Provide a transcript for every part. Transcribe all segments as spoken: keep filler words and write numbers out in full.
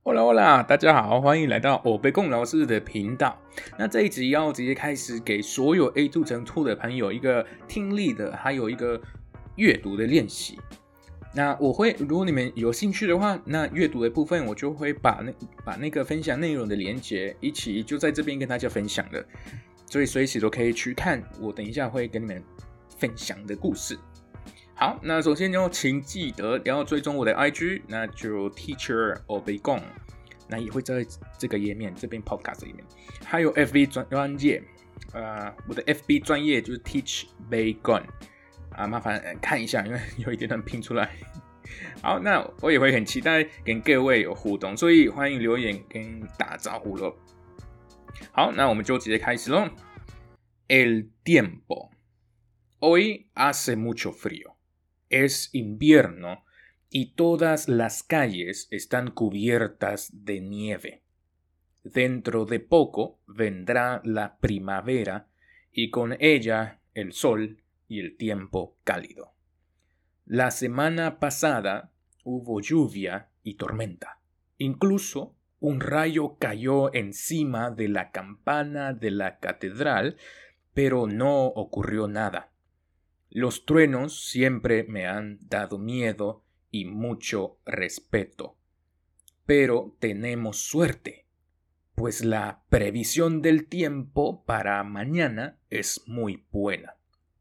Hola Hola，大家好，欢迎来到欧贝贡老师的频道。那这一集要直接开始给所有 A 二 乘二的朋友一个听力的，还有一个阅读的练习。那我会，如果你们有兴趣的话，那阅读的部分我就会把那把那个分享内容的连结一起就在这边跟大家分享了，所以随时都可以去看我等一下会跟你们分享的故事。好，那首先就请记得要追踪我的 I G， 那就 Teacher 欧贝贡，那也会在这个页面这边 Podcast 里面，还有 F B 专业，呃，我的 F B 专业就是 Teach Baygon 啊，麻烦看一下，因为有一点难拼出来。好，那我也会很期待跟各位有互动，所以欢迎留言跟打招呼咯。好，那我们就直接开始咯。El tiempo. Hoy hace mucho frío.Es invierno y todas las calles están cubiertas de nieve. Dentro de poco vendrá la primavera y con ella el sol y el tiempo cálido. La semana pasada hubo lluvia y tormenta. Incluso un rayo cayó encima de la campana de la catedral, pero no ocurrió nada.Los truenos siempre me han dado miedo y mucho respeto. Pero tenemos suerte, pues la previsión del tiempo para mañana es muy buena.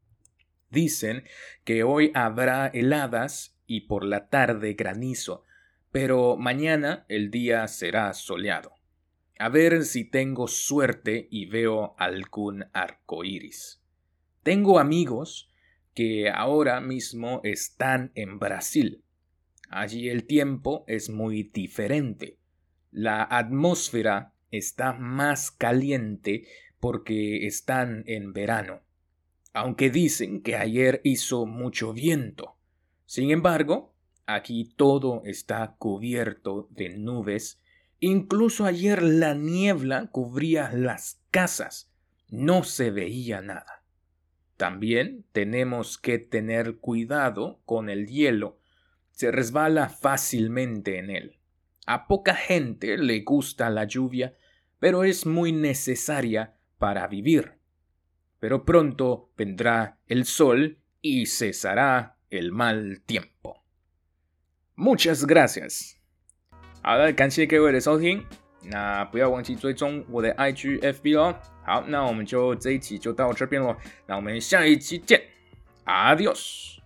Dicen que hoy habrá heladas y por la tarde granizo, pero mañana el día será soleado. A ver si tengo suerte y veo algún arco iris. Tengo amigos...que ahora mismo están en Brasil. Allí el tiempo es muy diferente. La atmósfera está más caliente porque están en verano. Aunque dicen que ayer hizo mucho viento. Sin embargo, aquí todo está cubierto de nubes. Incluso ayer la niebla cubría las casas. No se veía nada.También tenemos que tener cuidado con el hielo. Se resbala fácilmente en él. A poca gente le gusta la lluvia, pero es muy necesaria para vivir. Pero pronto vendrá el sol y cesará el mal tiempo. Muchas gracias. 好的，感谢各位的收听。那不要忘记追踪我的 I G F B 咯。好，那我们就这一集就到这边咯。那我们下一期见 ，Adios。